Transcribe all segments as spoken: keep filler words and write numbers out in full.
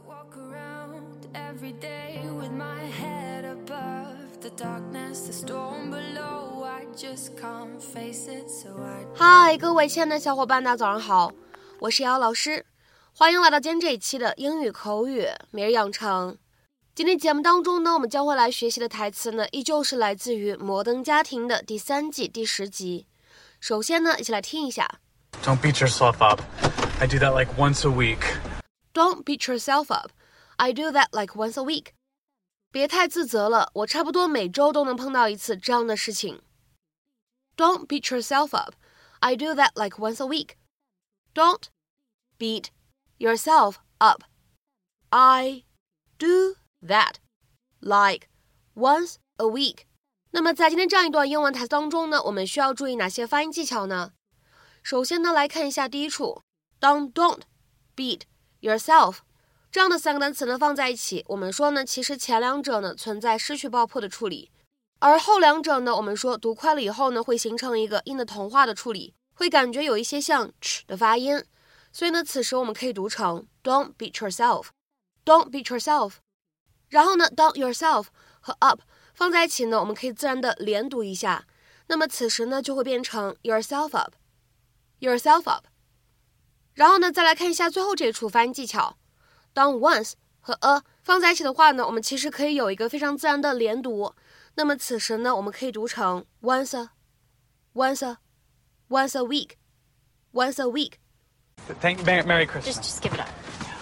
嗨，各位亲爱的小伙伴，大家早上好，我是瑶老师，欢迎来到今天这一期的英语口语每日养成。今天节目当中呢，我们将会来学习的台词呢，依旧是来自于《摩登家庭》的第三季第十集。首先呢，一起来听一下。 Don't beat yourself up. I do that like once a week. Don't beat yourself up. I do that like once a week. 别太自责了，我差不多每周都能碰到一次这样的事情。Don't beat yourself up. I do that like once a week. Don't beat yourself up. I do that like once a week. 那么在今天这样一段英文台词当中呢，我们需要注意哪些发音技巧呢？首先呢，来看一下第一处，当 don't beat yourself 这样的三个单词呢放在一起，我们说呢，其实前两者呢存在失去爆破的处理，而后两者呢，我们说读快了以后呢，会形成一个音的同化的处理，会感觉有一些像 ch 的发音，所以呢，此时我们可以读成 don't beat yourself, don't beat yourself。然后呢，当 yourself 和 up 放在一起呢，我们可以自然的连读一下，那么此时呢就会变成 yourself up, yourself up。然后呢，再来看一下最后这一处发音技巧，当 once 和 a 放在一起的话呢，我们其实可以有一个非常自然的连读，那么此时呢，我们可以读成 once a, once a, once a week, once a week。 Thank Merry Christmas. Just, just give it up.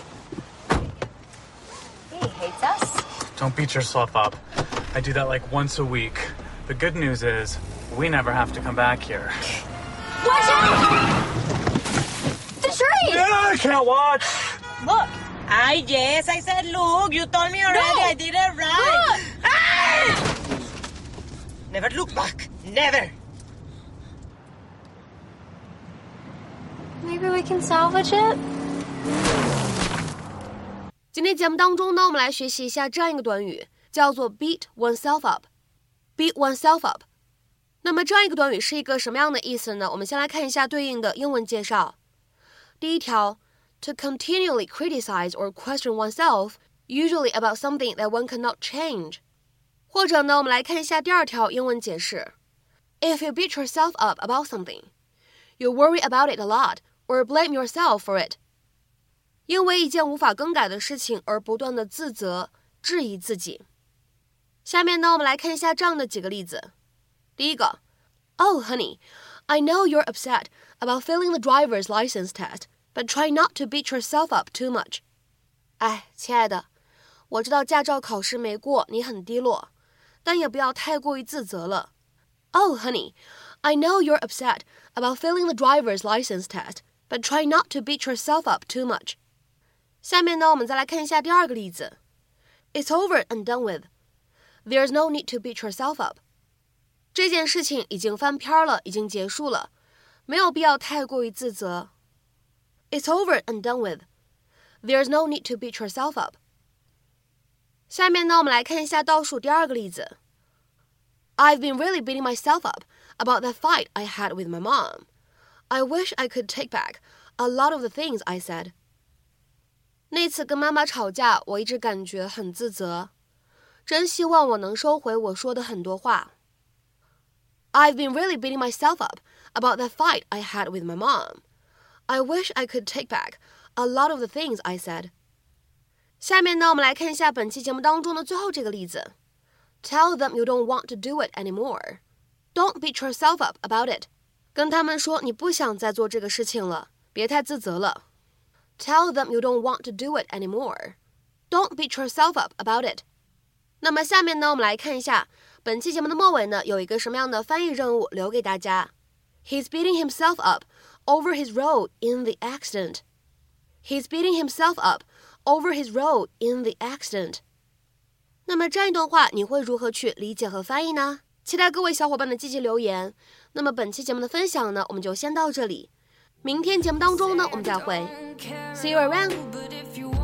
He hates us. Don't beat yourself up. I do that like once a week. The good news is, we never have to come back here. Watch out! The tree! Yeah, I can't watch. Look. I yes, I said look. You told me already. No. I did it right. Look. Ah! Never look back. Never. Maybe we can salvage it? 今天节目当中呢，我们来学习一下这样一个短语，叫做 beat oneself up. Beat oneself up. 那么这样一个短语是一个什么样的意思呢？我们先来看一下对应的英文介绍。第一条 to continually criticize or question oneself, usually about something that one cannot change. 或者呢，我们来看一下第二条英文解释。If you beat yourself up about something, you worry about it a lot, or blame yourself for it. 因为一件无法更改的事情而不断的自责、质疑自己。下面呢，我们来看一下这样的几个例子。第一个 Oh, honey, I know you're upset about failing the driver's license test, but try not to beat yourself up too much. 哎，亲爱的，我知道驾照考试没过，你很低落，但也不要太过于自责了。Oh, honey, I know you're upset about failing the driver's license test, but try not to beat yourself up too much. 下面呢，我们再来看一下第二个例子。It's over and done with. There's no need to beat yourself up. 这件事情已经翻篇了，已经结束了，没有必要太过于自责。It's over and done with. There's no need to beat yourself up. 下面呢，我们来看一下倒数第二个例子。I've been really beating myself up about that fight I had with my mom. I wish I could take back a lot of the things I said. 那次跟妈妈吵架，我一直感觉很自责，真希望我能收回我说的很多话。I've been really beating myself up about that fight I had with my mom. I wish I could take back a lot of the things I said. 下面呢，我们来看一下本期节目当中的最后这个例子。Tell them you don't want to do it anymore. Don't beat yourself up about it. 跟他们说你不想再做这个事情了，别太自责了。Tell them you don't want to do it anymore. Don't beat yourself up about it. 那么下面呢，我们来看一下本期节目的末尾呢，有一个什么样的翻译任务留给大家。He's beating himself up over his road in the accident. He's beating himself up over his road in the accident. 那么这样一段话，你会如何去理解和翻译呢？期待各位小伙伴的积极留言。那么本期节目的分享呢，我们就先到这里。明天节目当中呢，我们再会。See you around.